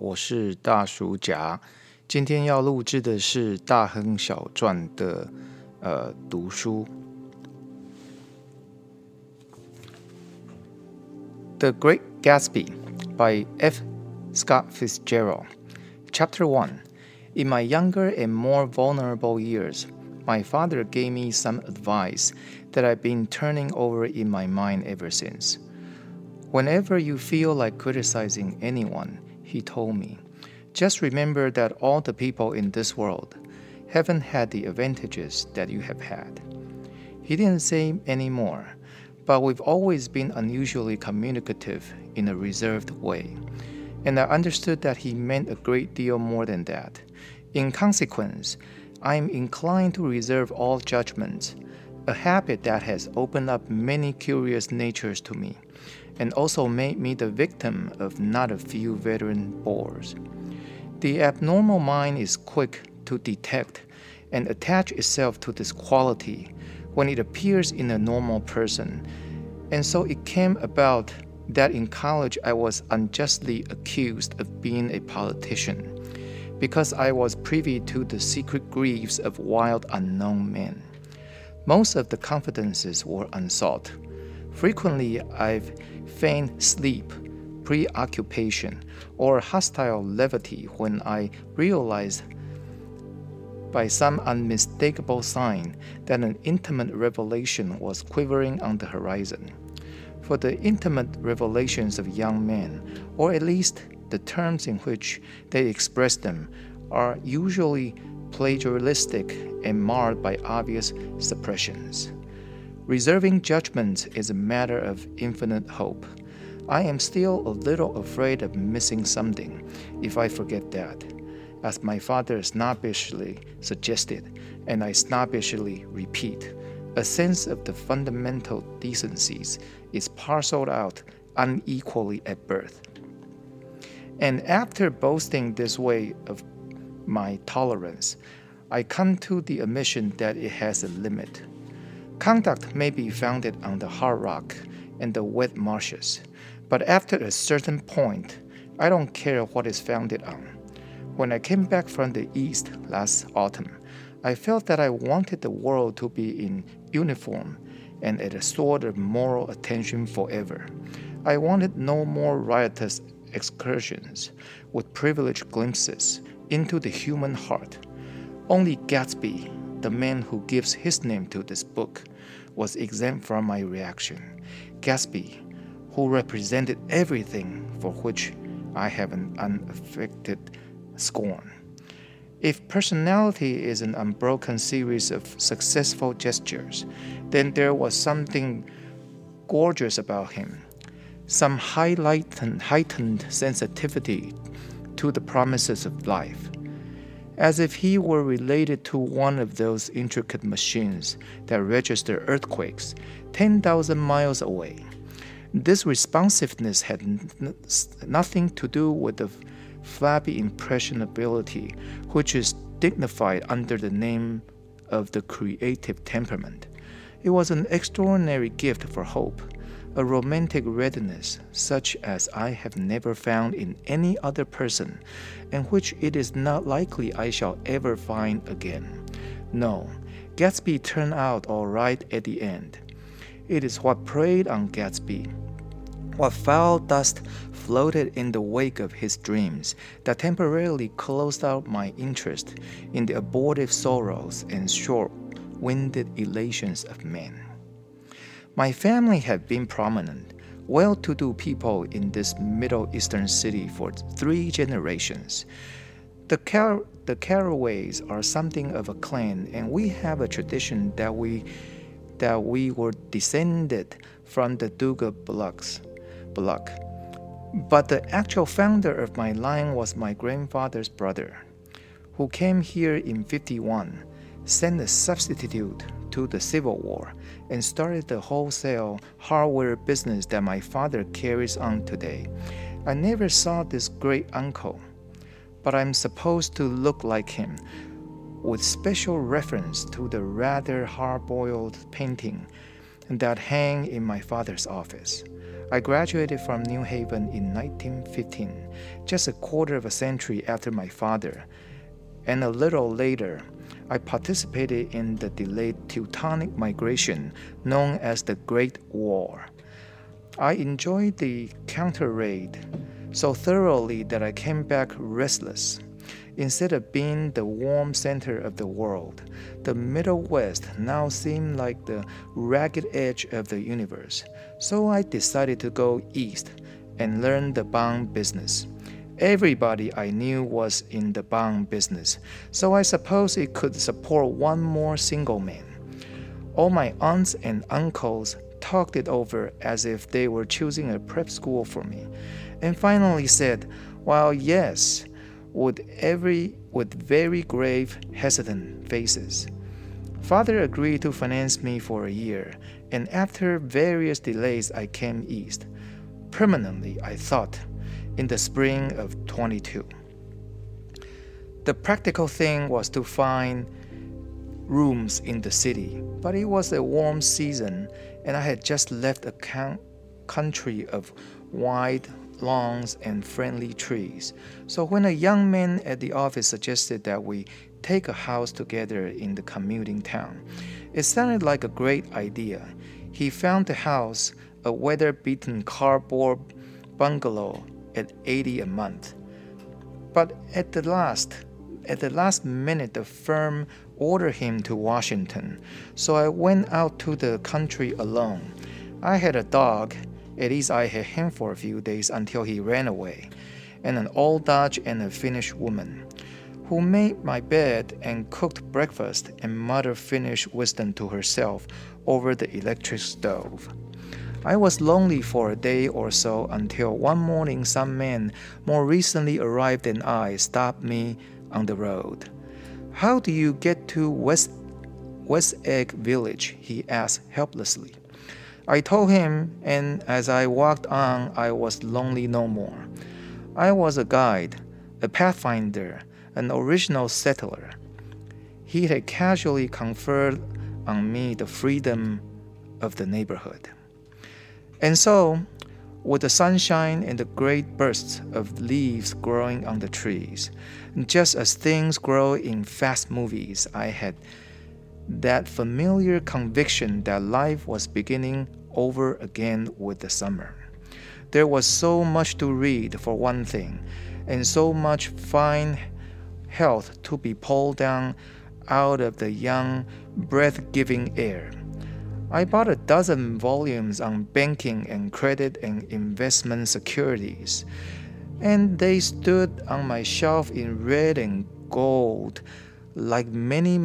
我是大叔甲，今天要录制的是大亨小传的读书。The Great Gatsby by F. Scott Fitzgerald. Chapter 1. In my younger and more vulnerable years, my father gave me some advice that I've been turning over in my mind ever since. Whenever you feel like criticizing anyone, he told me, just remember that all the people in this world haven't had the advantages that you have had. He didn't say any more, but we've always been unusually communicative in a reserved way, and I understood that he meant a great deal more than that. In consequence, I am inclined to reserve all judgments, a habit that has opened up many curious natures to me, and also made me the victim of not a few veteran bores. The abnormal mind is quick to detect and attach itself to this quality when it appears in a normal person, and so it came about that in college I was unjustly accused of being a politician, because I was privy to the secret griefs of wild unknown men. Most of the confidences were unsought. Frequently I've feigned sleep, preoccupation, or hostile levity when I realized by some unmistakable sign that an intimate revelation was quivering on the horizon. For the intimate revelations of young men, or at least the terms in which they express them, are usually plagiaristic and marred by obvious suppressions. Reserving judgment is a matter of infinite hope. I am still a little afraid of missing something if I forget that, as my father snobbishly suggested, and I snobbishly repeat. A sense of the fundamental decencies is parceled out unequally at birth. And after boasting this way of my tolerance, I come to the admission that it has a limit. Conduct may be founded on the hard rock and the wet marshes, but after a certain point, I don't care what it's founded on. When I came back from the East last autumn, I felt that I wanted the world to be in uniform and at a sort of moral attention forever. I wanted no more riotous excursions with privileged glimpses into the human heart. Only Gatsby, the man who gives his name to this book, was exempt from my reaction. Gatsby, who represented everything for which I have an unaffected scorn. If personality is an unbroken series of successful gestures, then there was something gorgeous about him, some heightened sensitivity to the promises of life, as if he were related to one of those intricate machines that register earthquakes 10,000 miles away. This responsiveness had nothing to do with the flabby impressionability which is dignified under the name of the creative temperament. It was an extraordinary gift for hope, a romantic readiness such as I have never found in any other person, and which it is not likely I shall ever find again. No, Gatsby turned out all right at the end. It is what preyed on Gatsby, what foul dust floated in the wake of his dreams, that temporarily closed out my interest in the abortive sorrows and short-winded elations of men. My family had been prominent, well-to-do people in this Middle Eastern city for 3 generations. The Carraways are something of a clan, and we have a tradition that we were descended from the Duke of Bullock. But the actual founder of my line was my grandfather's brother, who came here in 51, sent a substitute to the Civil War, and started the wholesale hardware business that my father carries on today. I never saw this great uncle, but I'm supposed to look like him, with special reference to the rather hard-boiled painting that hang in my father's office. I graduated from New Haven in 1915, just a quarter of a century after my father, and a little later, I participated in the delayed Teutonic migration known as the Great War. I enjoyed the counter-raid so thoroughly that I came back restless. Instead of being the warm center of the world, the Middle West now seemed like the ragged edge of the universe. So I decided to go east and learn the bond business. Everybody I knew was in the bond business, so I suppose it could support one more single man. All my aunts and uncles talked it over as if they were choosing a prep school for me, and finally said, "Well, yes," with very grave, hesitant faces. Father agreed to finance me for a year, and after various delays I came east. Permanently, I thought, in the spring of 22. The practical thing was to find rooms in the city, but it was a warm season, and I had just left a country of wide lawns and friendly trees. So when a young man at the office suggested that we take a house together in the commuting town, it sounded like a great idea. He found the house, a weather-beaten cardboard bungalow, at $80 a month. But at the last minute, the firm ordered him to Washington, so I went out to the country alone. I had a dog, at least I had him for a few days until he ran away, and an old Dutch and a Finnish woman, who made my bed and cooked breakfast and muttered Finnish wisdom to herself over the electric stove. I was lonely for a day or so until one morning some man more recently arrived than I stopped me on the road. "How do you get to West Egg Village?" he asked helplessly. I told him, and as I walked on, I was lonely no more. I was a guide, a pathfinder, an original settler. He had casually conferred on me the freedom of the neighborhood. And so, with the sunshine and the great bursts of leaves growing on the trees, just as things grow in fast movies, I had that familiar conviction that life was beginning over again with the summer. There was so much to read, for one thing, and so much fine health to be pulled down out of the young, breath-giving air. I bought a dozen volumes on banking and credit and investment securities, and they stood on my shelf in red and gold, like new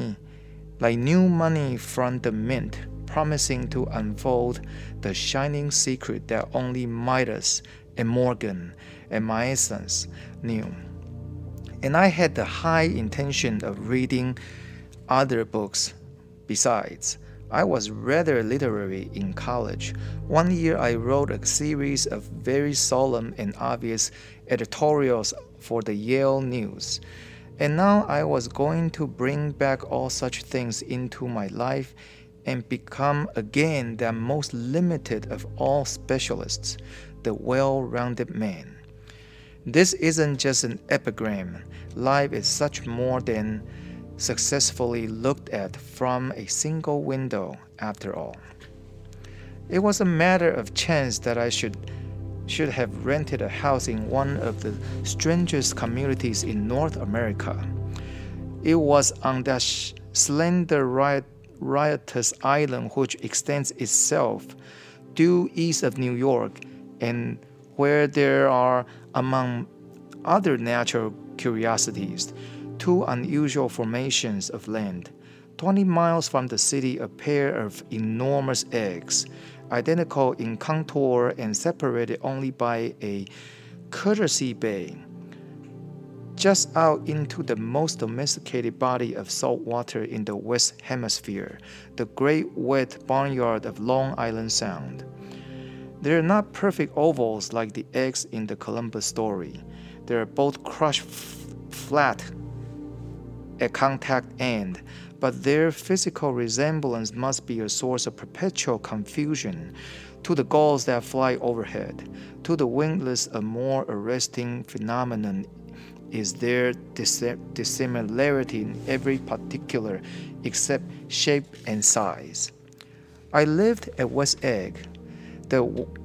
money from the mint, promising to unfold the shining secret that only Midas and Morgan and Maestas knew. And I had the high intention of reading other books besides. I was rather literary in college. One year I wrote a series of very solemn and obvious editorials for the Yale News. And now I was going to bring back all such things into my life and become again that most limited of all specialists, the well-rounded man. This isn't just an epigram. Life is such more than successfully looked at from a single window, after all. It was a matter of chance that I should have rented a house in one of the strangest communities in North America. It was on that slender, riotous island which extends itself due east of New York, and where there are, among other natural curiosities, two unusual formations of land. 20 miles from the city, a pair of enormous eggs, identical in contour and separated only by a courtesy bay, just out into the most domesticated body of salt water in the West Hemisphere, the great wet barnyard of Long Island Sound. They are not perfect ovals like the eggs in the Columbus story. They are both crushed flat at contact end, but their physical resemblance must be a source of perpetual confusion to the gulls that fly overhead. To the wingless, a more arresting phenomenon is their dissimilarity in every particular except shape and size. I lived at West Egg, the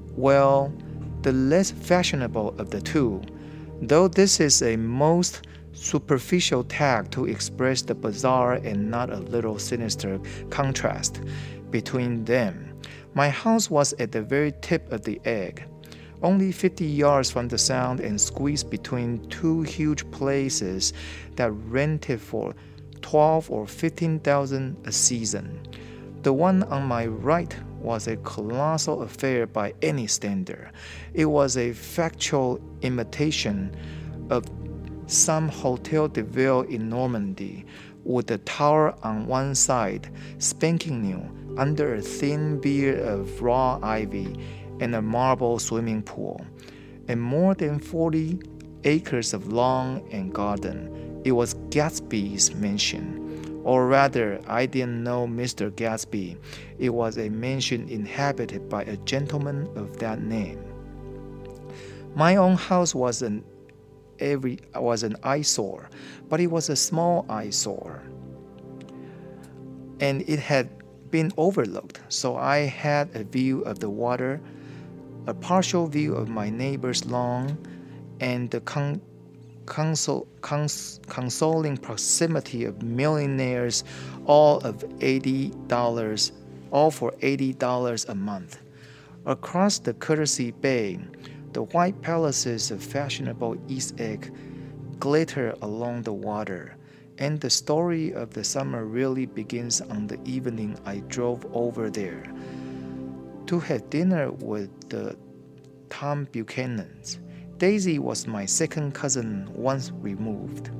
less fashionable of the two, though this is a most superficial tag to express the bizarre and not a little sinister contrast between them. My house was at the very tip of the egg, only 50 yards from the sound and squeezed between two huge places that rented for 12 or 15,000 a season. The one on my right was a colossal affair by any standard. It was a factual imitation of some Hotel de Ville in Normandy, with the tower on one side, spanking new, under a thin beard of raw ivy and a marble swimming pool, and more than 40 acres of lawn and garden. It was Gatsby's mansion, or rather, I didn't know Mr. Gatsby. It was a mansion inhabited by a gentleman of that name. My own house was an eyesore, but it was a small eyesore, and it had been overlooked, so I had a view of the water, a partial view of my neighbor's lawn, and the consoling proximity of millionaires, all for $80 a month. Across the Courtesy Bay, the white palaces of fashionable East Egg glitter along the water, and the story of the summer really begins on the evening I drove over there to have dinner with the Tom Buchanans. Daisy was my second cousin once removed,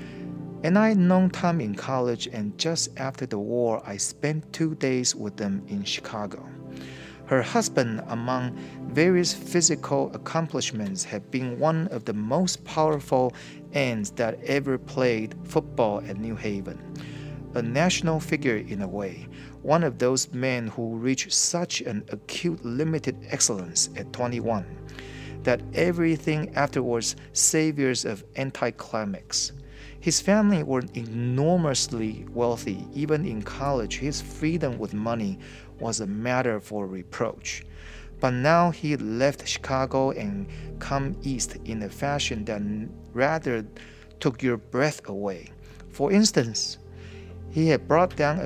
and I had known Tom in college, and just after the war I spent 2 days with them in Chicago. Her husband, among various physical accomplishments, had been one of the most powerful ends that ever played football at New Haven. A national figure in a way, one of those men who reach such an acute limited excellence at 21, that everything afterwards savors of anticlimax. His family were enormously wealthy. Even in college, his freedom with money was a matter for reproach. But now he left Chicago and come east in a fashion that rather took your breath away. For instance, he had brought down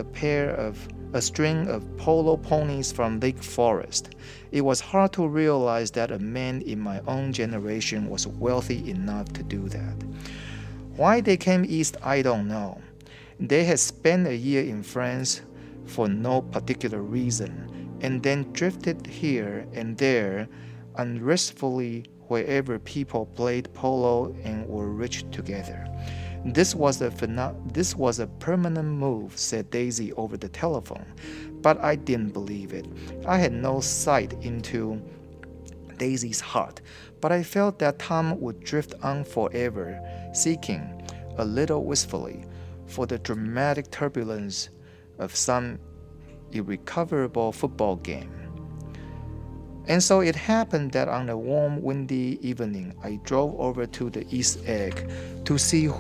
a string of polo ponies from Lake Forest. It was hard to realize that a man in my own generation was wealthy enough to do that. Why they came east, I don't know. They had spent a year in France for no particular reason, and then drifted here and there unrestfully wherever people played polo and were rich together. This was a permanent move, said Daisy over the telephone, but I didn't believe it. I had no sight into Daisy's heart, but I felt that Tom would drift on forever, seeking, a little wistfully, for the dramatic turbulence of some irrecoverable football game. And so it happened that on a warm, windy evening, I drove over to the East Egg to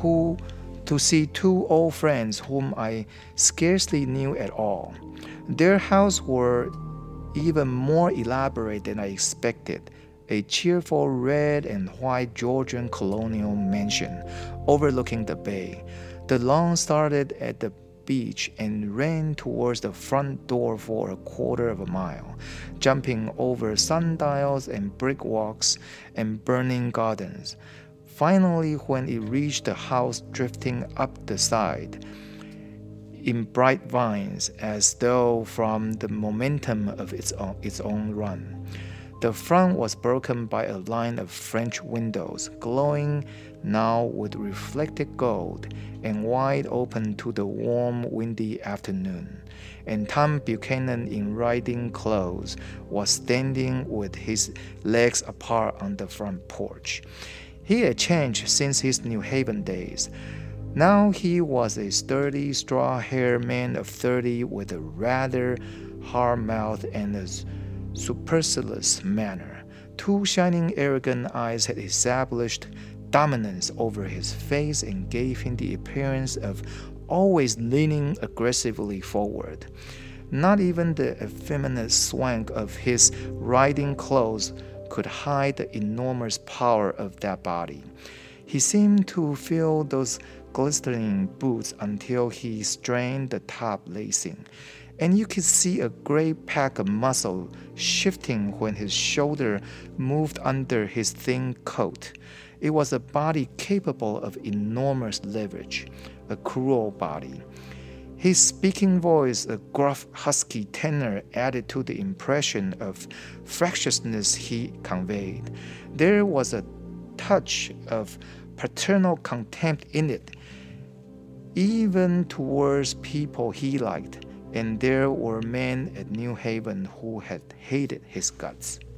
see two old friends whom I scarcely knew at all. Their houses were even more elaborate than I expected, a cheerful red and white Georgian colonial mansion overlooking the bay. The lawn started at the beach and ran towards the front door for a quarter of a mile, jumping over sundials and brick walks and burning gardens. Finally, when it reached the house drifting up the side in bright vines as though from the momentum of its own run. The front was broken by a line of French windows, glowing now with reflected gold and wide open to the warm, windy afternoon. And Tom Buchanan in riding clothes was standing with his legs apart on the front porch. He had changed since his New Haven days. Now he was a sturdy, straw-haired man of 30 with a rather hard mouth and a supercilious manner. Two shining, arrogant eyes had established dominance over his face and gave him the appearance of always leaning aggressively forward. Not even the effeminate swank of his riding clothes could hide the enormous power of that body. He seemed to feel those glistening boots until he strained the top lacing, and you could see a great pack of muscle shifting when his shoulder moved under his thin coat. It was a body capable of enormous leverage, a cruel body. His speaking voice, a gruff, husky tenor, added to the impression of fractiousness he conveyed. There was a touch of paternal contempt in it, even towards people he liked, and there were men at New Haven who had hated his guts.